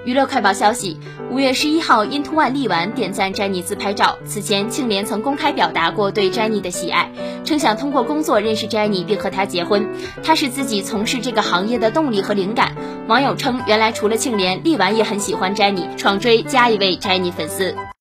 娱乐快报消息，5月11号，Into One 力丸点赞摘妮自拍照。此前，庆怜曾公开表达过对摘妮的喜爱，称想通过工作认识摘妮并和她结婚。她是自己从事这个行业的动力和灵感。网友称，原来除了庆怜，力丸也很喜欢摘妮，爽追加一位摘妮粉丝。